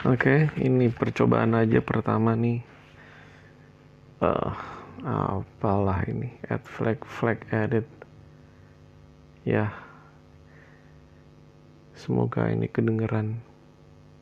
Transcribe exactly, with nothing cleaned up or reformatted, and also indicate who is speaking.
Speaker 1: Oke, ini percobaan aja pertama nih. Eh, apalah ini? Add flag, flag edit. Ya, semoga ini kedengeran.